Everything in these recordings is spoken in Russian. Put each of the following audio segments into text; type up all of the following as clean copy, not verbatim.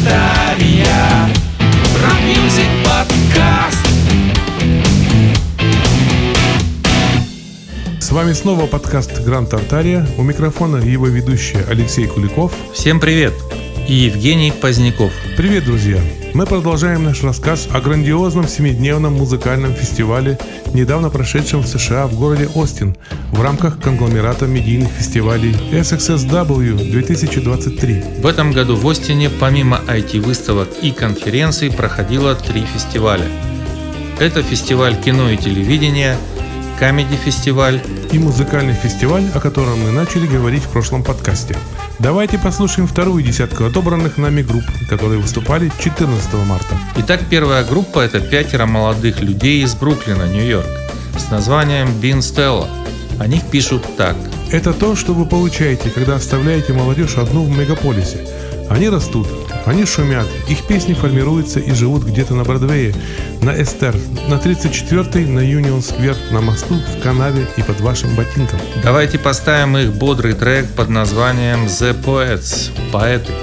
Тартария. Рок-мьюзик подкаст. С вами снова подкаст Гранд Тартария. У микрофона его ведущий Алексей Куликов. Всем привет! И Евгений Поздняков. Привет, друзья! Мы продолжаем наш рассказ о грандиозном 7-дневном музыкальном фестивале, недавно прошедшем в США в городе Остин в рамках конгломерата медийных фестивалей SXSW 2023. В этом году в Остине помимо IT-выставок и конференций проходило 3 фестиваля. Это фестиваль кино и телевидения, Камеди-фестиваль и музыкальный фестиваль, о котором мы начали говорить в прошлом подкасте. Давайте послушаем вторую десятку отобранных нами групп, которые выступали 14 марта. Итак, первая группа – это 5 молодых людей из Бруклина, Нью-Йорк, с названием Bean Stella. О них пишут так. Это то, что вы получаете, когда оставляете молодежь одну в мегаполисе. Они растут, они шумят, их песни формируются и живут где-то на Бродвее, на Эстер, на 34-й, на Юнион-сквер, на мосту, в канаве и под вашим ботинком. Давайте поставим их бодрый трек под названием The Poets – поэты.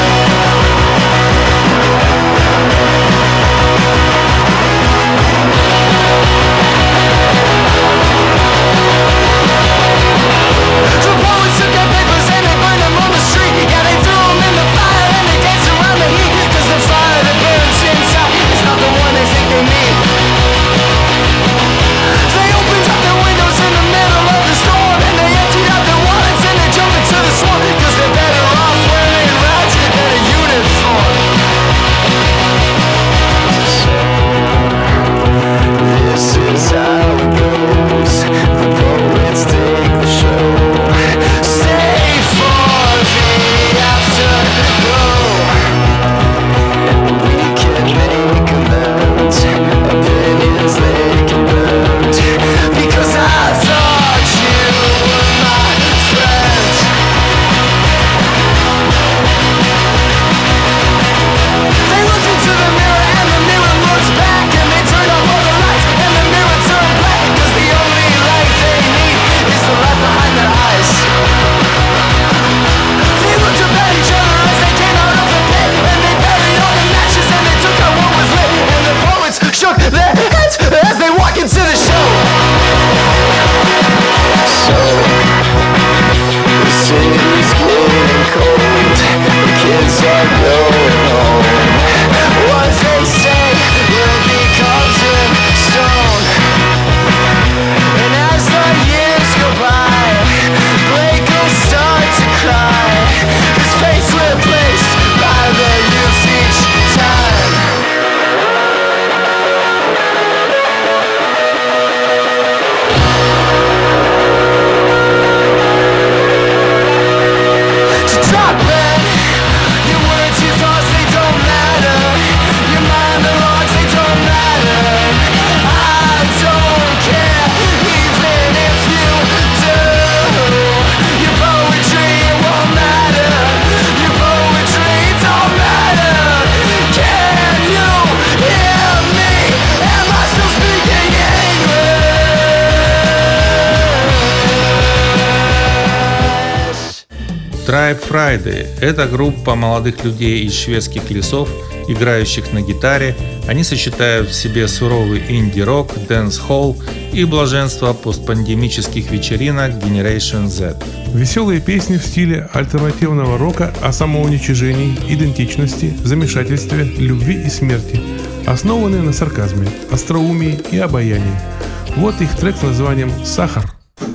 Tribe Friday – это группа молодых людей из шведских лесов, играющих на гитаре. Они сочетают в себе суровый инди-рок, дэнс-холл и блаженство постпандемических вечеринок Generation Z. Веселые песни в стиле альтернативного рока о самоуничижении, идентичности, замешательстве, любви и смерти, основанные на сарказме, остроумии и обаянии. Вот их трек с названием «Сахар».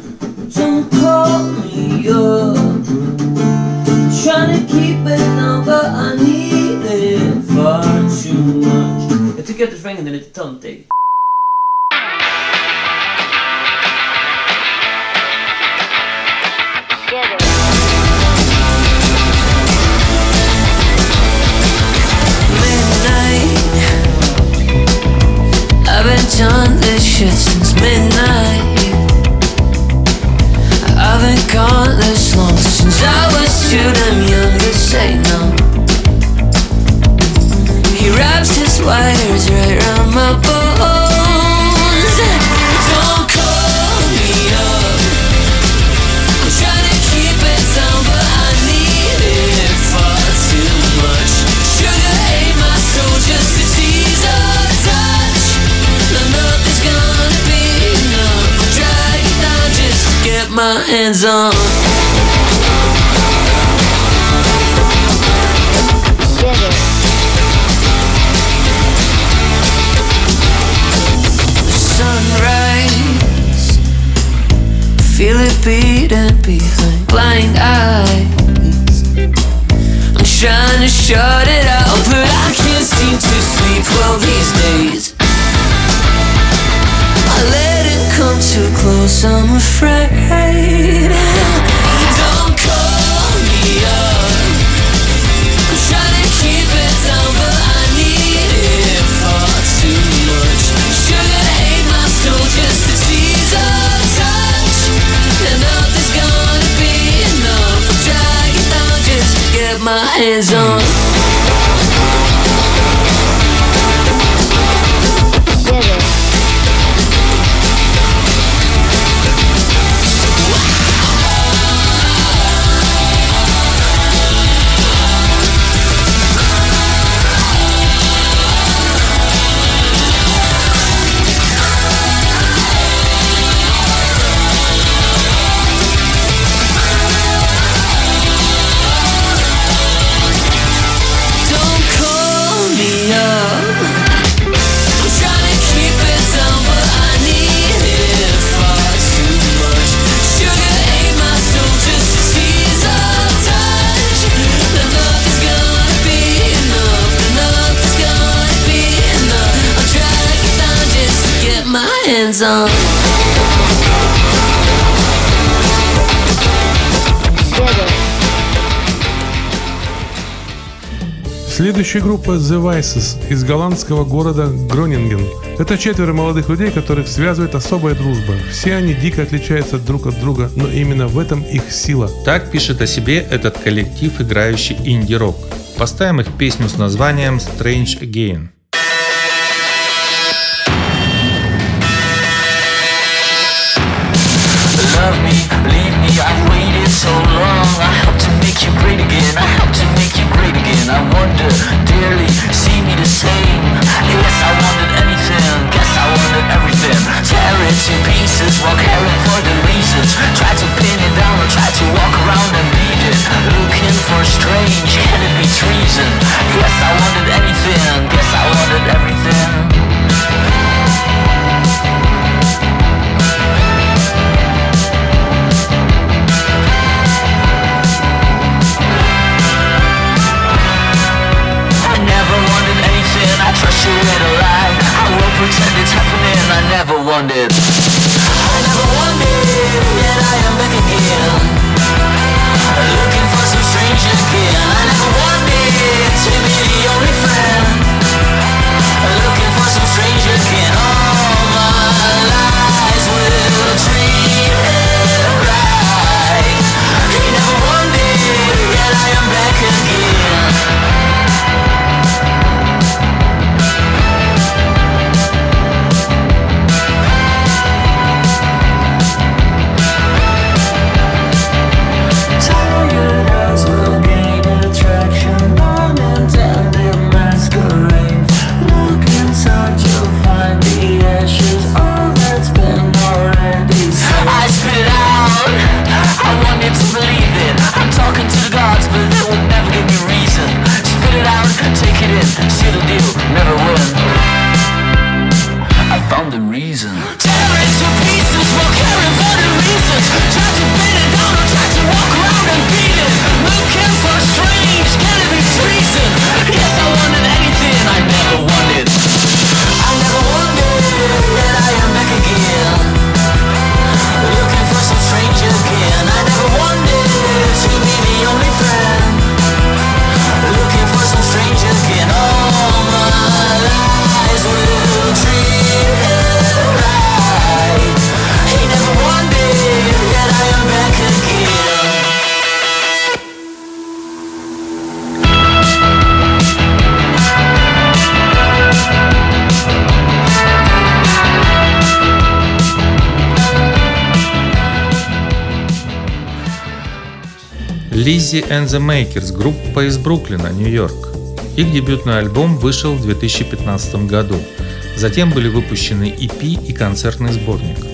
Trying to keep it down, but I need it far too much. I took out the ring and then it's tongue take. Midnight, I've been on this shit since midnight. I've been gone this long since I was too damn young to say no. He wraps his wires right round my bones. Don't call me up, I'm trying to keep it down, but I need it far too much. Sugar my hands on. Sunrise, feel it beating behind blind eyes. I'm trying to shut it out, but I can't seem to sleep well these days. I let it come too close, I'm afraid. Don't call me up, I'm trying to keep it down, but I need it far too much. Sugar ate my soul just to tease a touch, and nothing's gonna be enough. I'll drag it down just to get my hands on. Hands on. Следующая группа The Vices из голландского города Гронинген. Это 4 молодых людей, которых связывает особая дружба. Все они дико отличаются друг от друга, но именно в этом их сила. Так пишет о себе этот коллектив, играющий инди-рок. Поставим их песню с названием Strange Again. Love me, leave me, I've waited so long. I hope to make you great again, I hope to make you great again. I wonder, dearly, see me the same. Yes, I wanted anything, guess I wanted everything. Tear it to pieces while caring for the reasons. Try to pin it down or try to walk around and beat it. Looking for strange, can it be treason? Yes, I wanted anything, guess I wanted everything. Trust you in a lie, I won't pretend it's happening. I never wanted, yet I am back again. Looking for some strange again. I never wanted to be the only friend. Looking for some strange again. All my lies will treat it right. He never wanted, yet I am back again. Lizzy and the Makers, группа из Бруклина, Нью-Йорк. Их дебютный альбом вышел в 2015 году. Затем были выпущены EP и концертный сборник.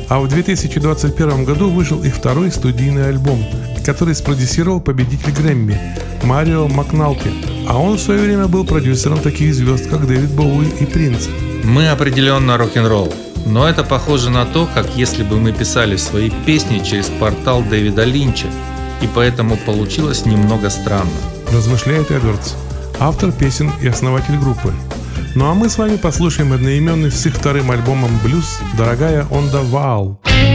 А в 2021 году вышел их второй студийный альбом, который спродюсировал победитель Грэмми Марио Макналки. А он в свое время был продюсером таких звезд, как Дэвид Боуи и Принц. Мы определенно рок-н-ролл, но это похоже на то, как если бы мы писали свои песни через портал Дэвида Линча, и поэтому получилось немного странно. Размышляет Эдвардс, автор песен и основатель группы. Ну а мы с вами послушаем одноименный с их вторым альбомом «Блюз» «Дорогая on the Wall».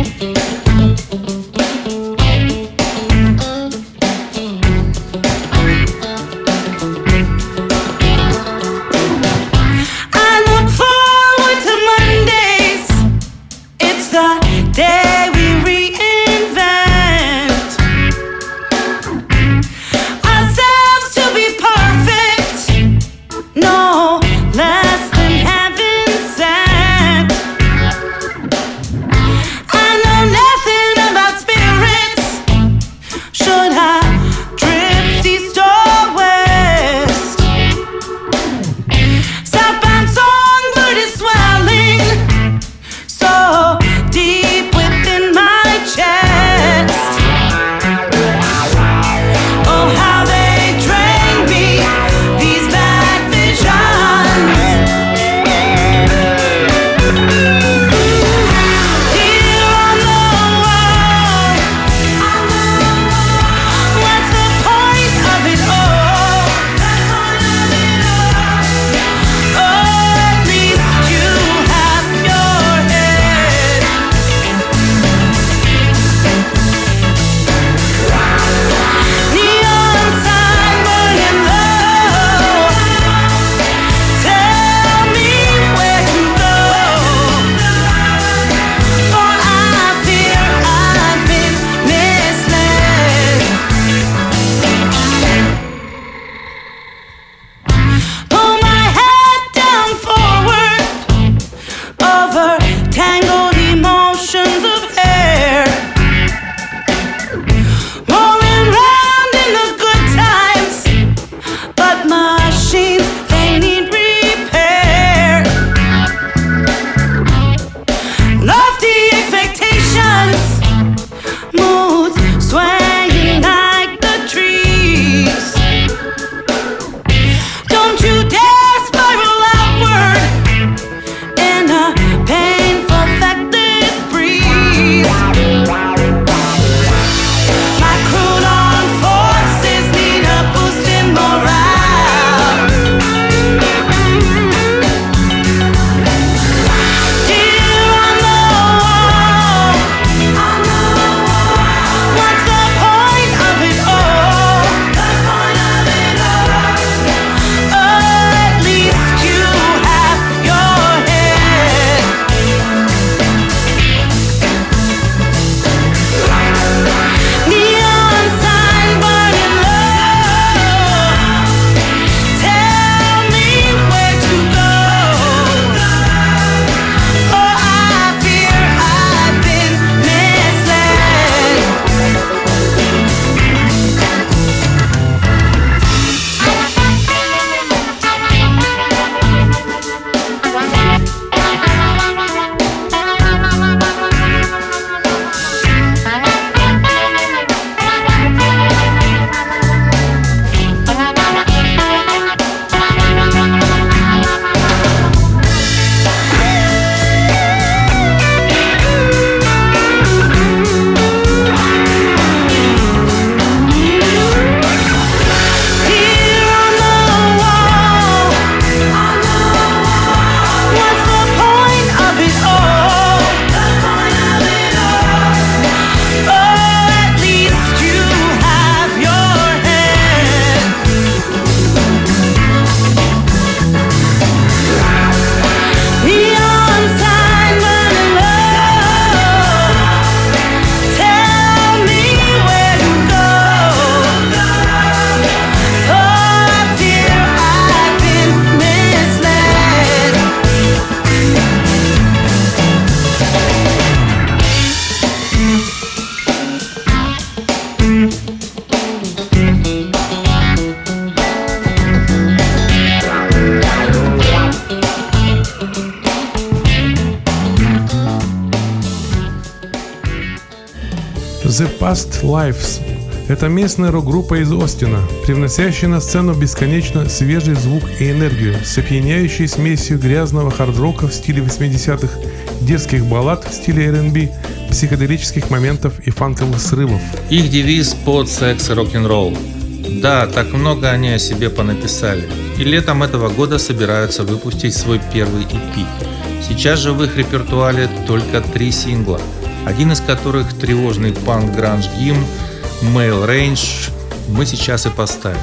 Less than heaven sent. I know The Past Lives. Это местная рок-группа из Остина, привносящая на сцену бесконечно свежий звук и энергию, с опьяняющей смесью грязного хард-рока в стиле 80-х, дерзких баллад в стиле R&B, психоделических моментов и фанковых срывов. Их девиз «Под секс и рок-н-ролл». Да, так много они о себе понаписали. И летом этого года собираются выпустить свой первый EP. Сейчас же в их репертуаре только 3 сингла, один из которых тревожный панк-гранж-гимн Male Range мы сейчас и поставим.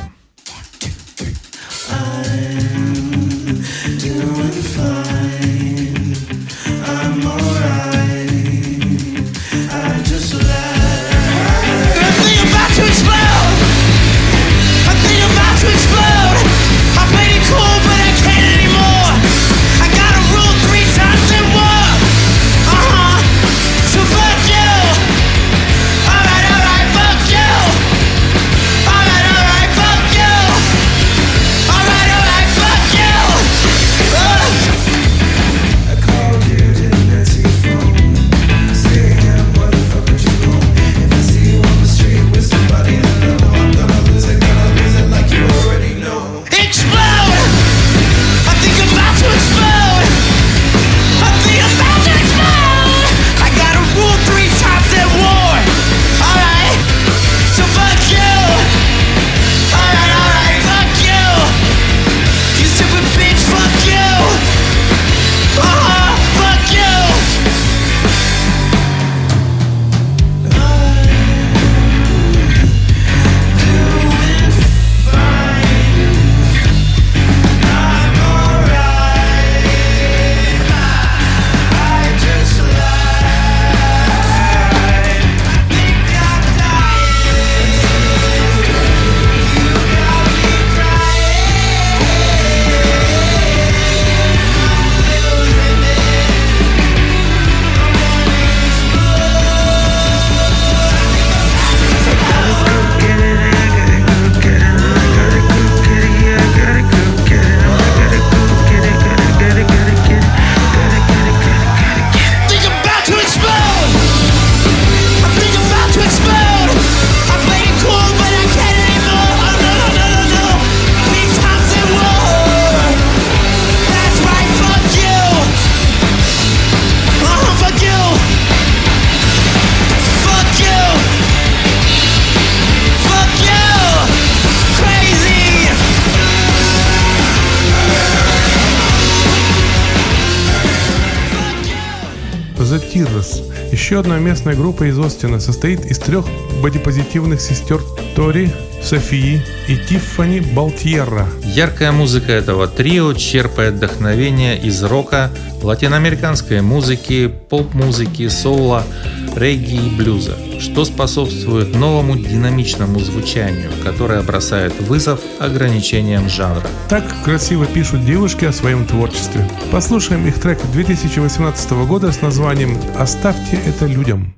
The Tears. Еще одна местная группа из Остина состоит из 3 бодипозитивных сестер Тори, Софии и Тиффани Балтьерра. Яркая музыка этого трио черпает вдохновение из рока, латиноамериканской музыки, поп-музыки, соула, регги и блюза, что способствует новому динамичному звучанию, которое бросает вызов ограничениям жанра. Так красиво пишут девушки о своем творчестве. Послушаем их трек 2018 года с названием «Оставьте это людям».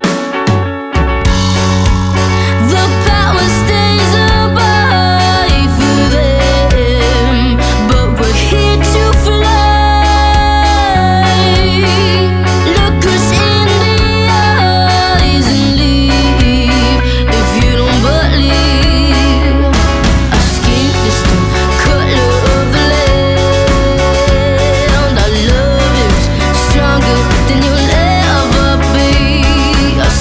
Stronger than you'll ever be.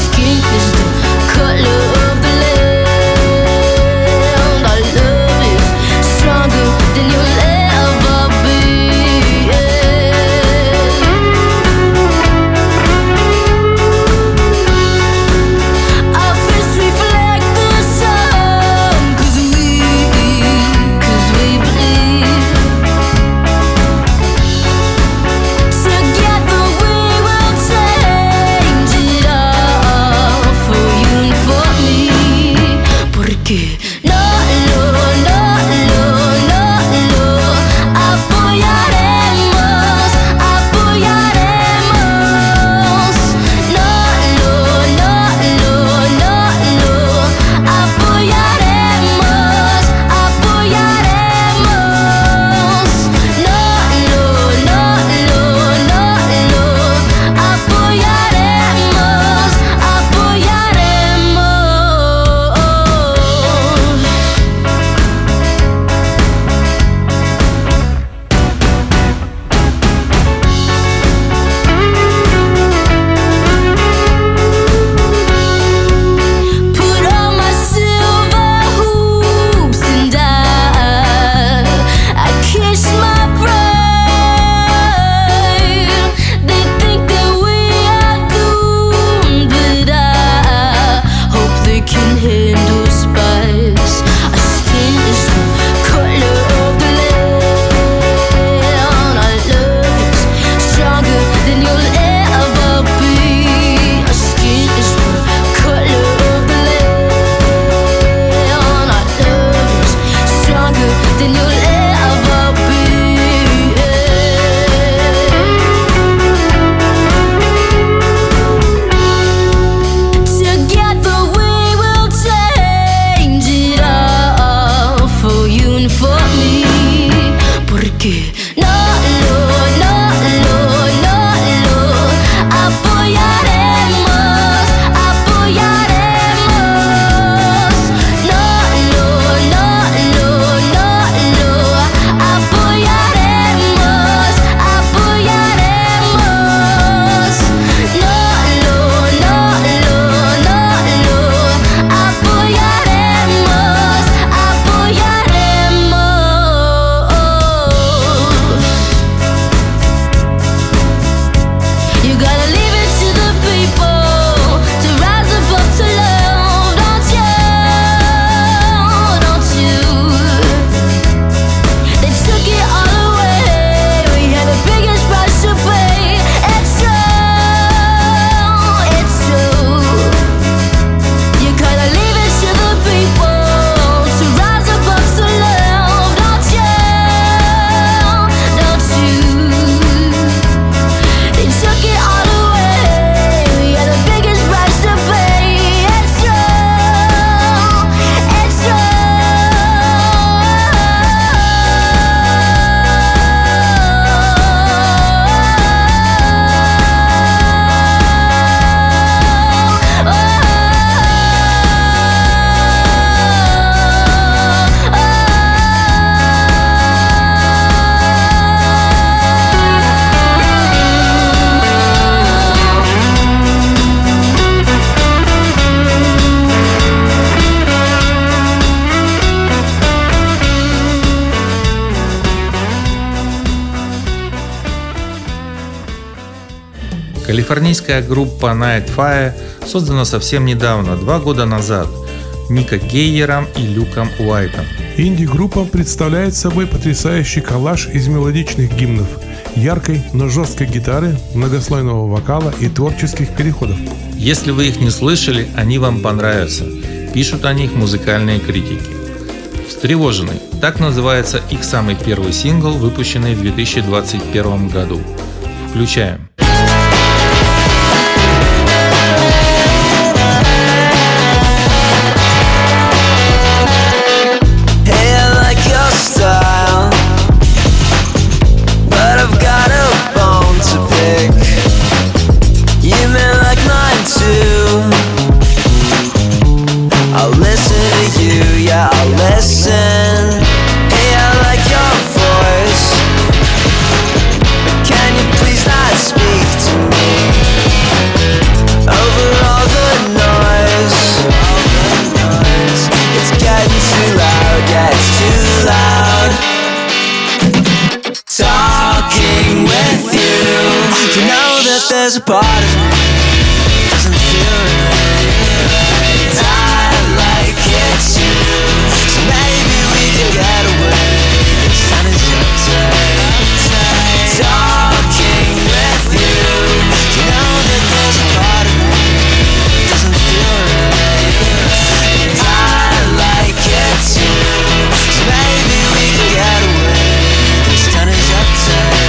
Калифорнийская группа Night Fire создана совсем недавно, 2 года назад, Нико Гейером и Люком Уайтом. Инди-группа представляет собой потрясающий коллаж из мелодичных гимнов, яркой, но жесткой гитары, многослойного вокала и творческих переходов. Если вы их не слышали, они вам понравятся. Пишут о них музыкальные критики. «Встревоженный» – так называется их самый первый сингл, выпущенный в 2021 году. Включаем. There's a part of me that doesn't feel right. I like it too, so maybe we can get away. This time is uptight. Talking with you, you know that there's a part of me that doesn't feel right. I like it too, so maybe we can get away. This time is uptight.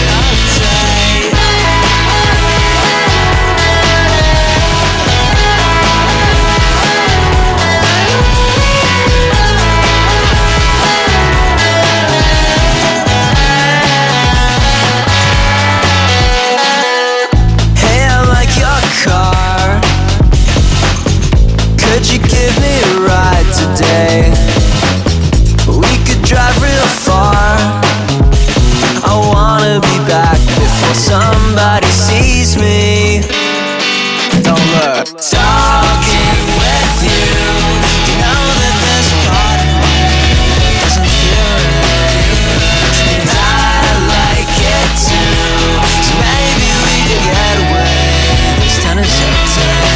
Could you give me a ride today? We could drive real far. I wanna be back before somebody sees me. Don't look. Talking with you, you know that there's a part of me that doesn't feel right. And I like it too, so maybe we can get away. This time is uptight.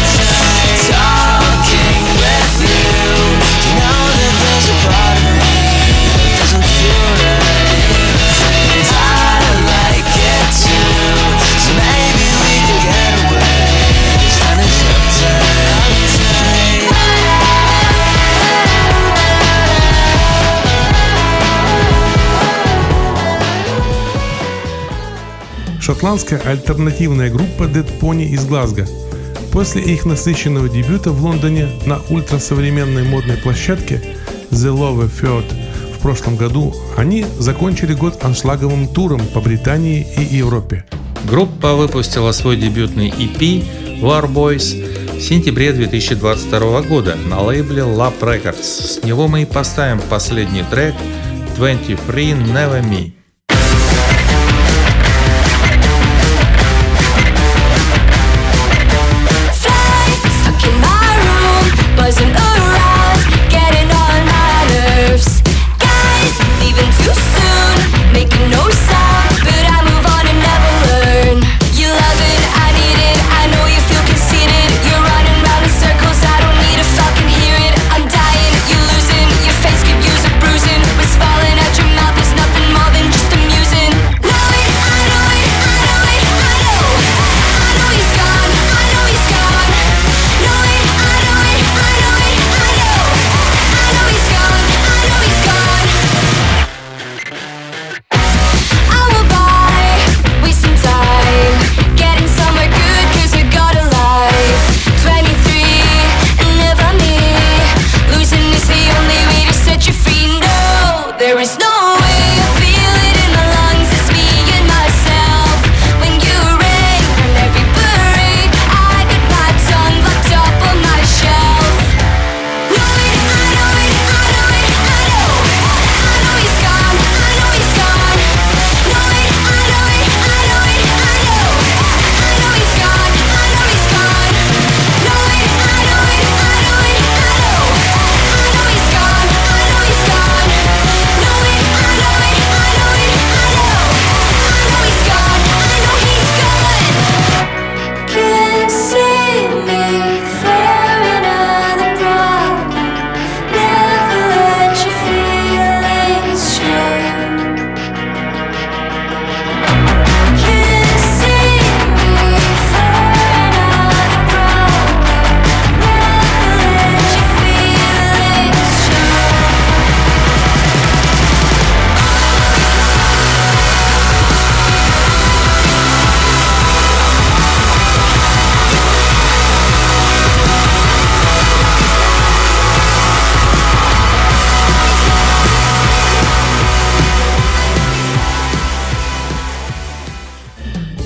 Talking with you, you know that there's a part of me that doesn't feel right. And I like it too, so maybe we can get away. This time is uptight. Шотландская альтернативная группа Dead Pony из Глазго. После их насыщенного дебюта в Лондоне на ультрасовременной модной площадке The Love Field в прошлом году они закончили год аншлаговым туром по Британии и Европе. Группа выпустила свой дебютный EP War Boys в сентябре 2022 года на лейбле Lab Records. С него мы и поставим последний трек 23 Never Me. Buzzing around, getting on my nerves. Guys, leaving too soon, making no sound, but I move on and never learn. You love it, I need it, I know you feel conceited. You're running round in circles, I don't need to fucking hear it. I'm dying, you're losing, your face could use a bruising. What's falling out your mouth is nothing more than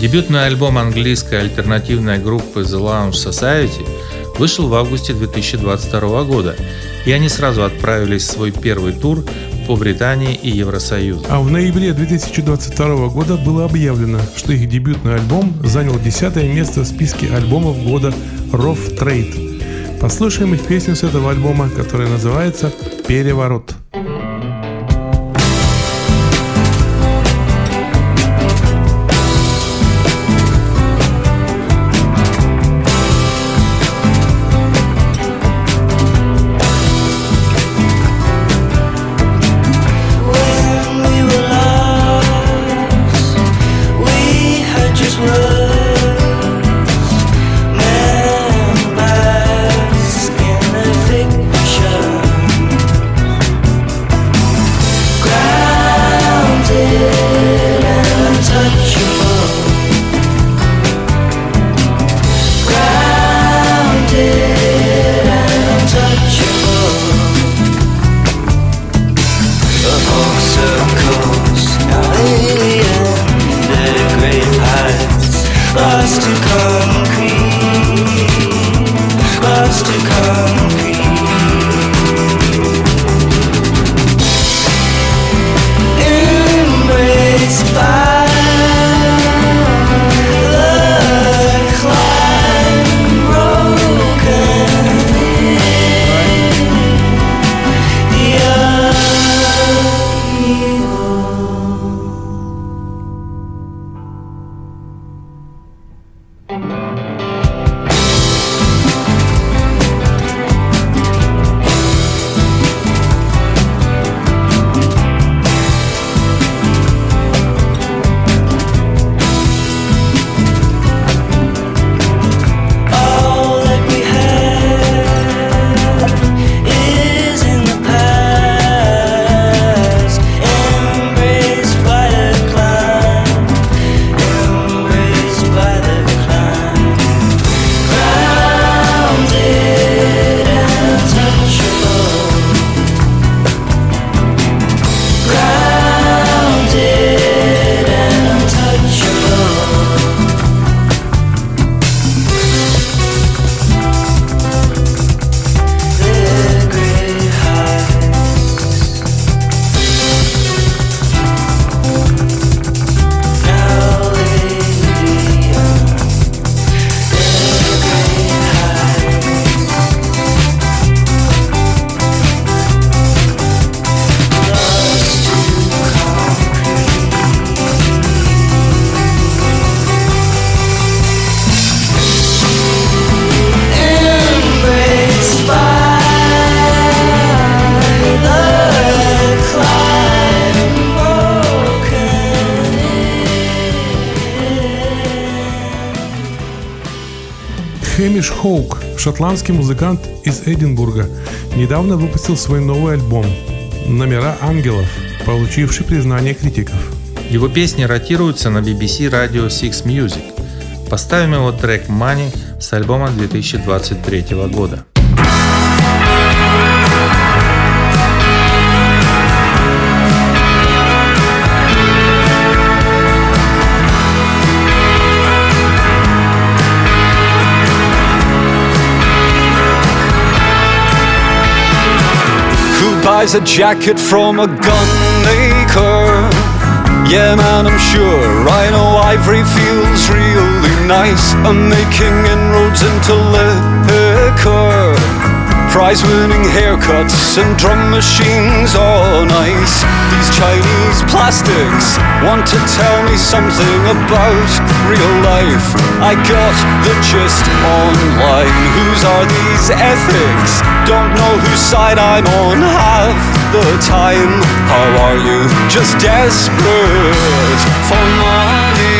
Дебютный альбом английской альтернативной группы The Lounge Society вышел в августе 2022 года, и они сразу отправились в свой первый тур по Британии и Евросоюзу. А в ноябре 2022 года было объявлено, что их дебютный альбом занял 10-е место в списке альбомов года Rough Trade. Послушаем их песню с этого альбома, которая называется «Переворот». Хэмиш Хоук, шотландский музыкант из Эдинбурга, недавно выпустил свой новый альбом «Номера ангелов», получивший признание критиков. Его песни ротируются на BBC Radio 6 Music. Поставим его трек «Money» с альбома 2023 года. Buys a jacket from a gun maker. Yeah man, I'm sure I know Ivory feels really nice. I'm making inroads into liquor, prize-winning haircuts and drum machines on ice. These Chinese plastics want to tell me something about real life. I got the gist online. Whose are these ethics? Don't know whose side I'm on half the time. How are you? Just desperate for money.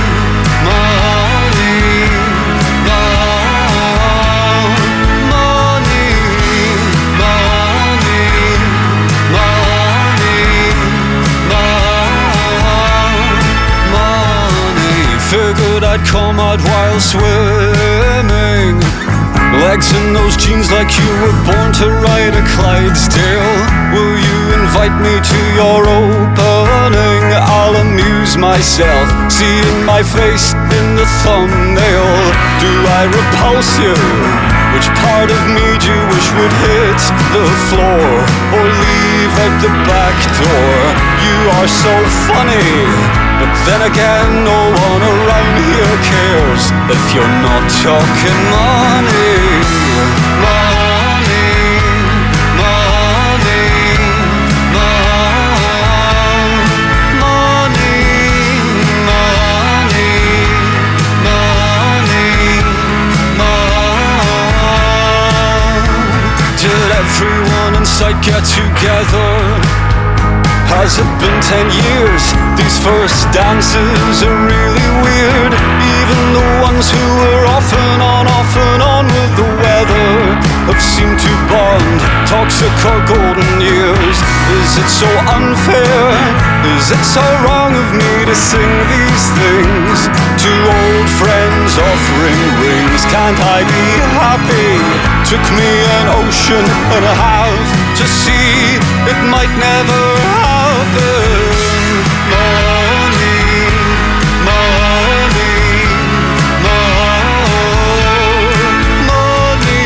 Figured I'd come out while swimming. Legs in those jeans like you were born to ride a Clydesdale. Will you invite me to your opening? I'll amuse my myself seeing my face in the thumbnail. Do I repulse you? Which part of me do you wish would hit the floor or leave at the back door? You are so funny, but then again no one around here cares if you're not talking money. Money, money, money, money, money. Did everyone in sight get together? Has it been 10 years? These first dances are really weird. Even the ones who were off and on with the weather have seemed to bond. Toxic or golden years. Is it so unfair? Is it so wrong of me to sing these things to old friends offering rings? Can't I be happy? Took me an ocean and a half to see it might never happen. Money, money, money,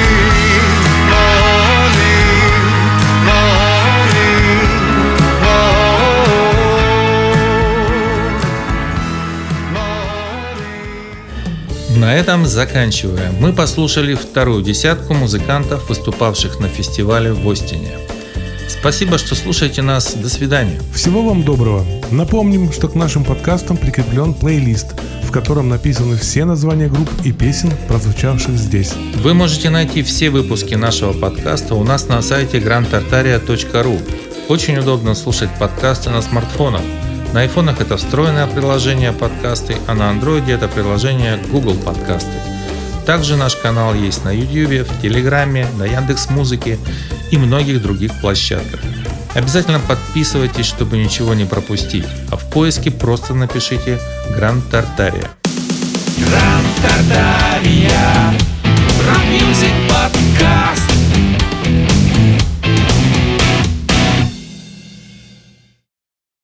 На этом заканчиваем. Мы послушали вторую десятку музыкантов, выступавших на фестивале в Остине. Спасибо, что слушаете нас. До свидания. Всего вам доброго. Напомним, что к нашим подкастам прикреплен плейлист, в котором написаны все названия групп и песен, прозвучавших здесь. Вы можете найти все выпуски нашего подкаста у нас на сайте grandtartaria.ru. Очень удобно слушать подкасты на смартфонах. На айфонах это встроенное приложение подкасты, а на андроиде это приложение Google подкасты. Также наш канал есть на YouTube, в Телеграме, на Яндекс.Музыке и многих других площадках. Обязательно подписывайтесь, чтобы ничего не пропустить, а в поиске просто напишите Grand Tartaria. Grand Tartaria.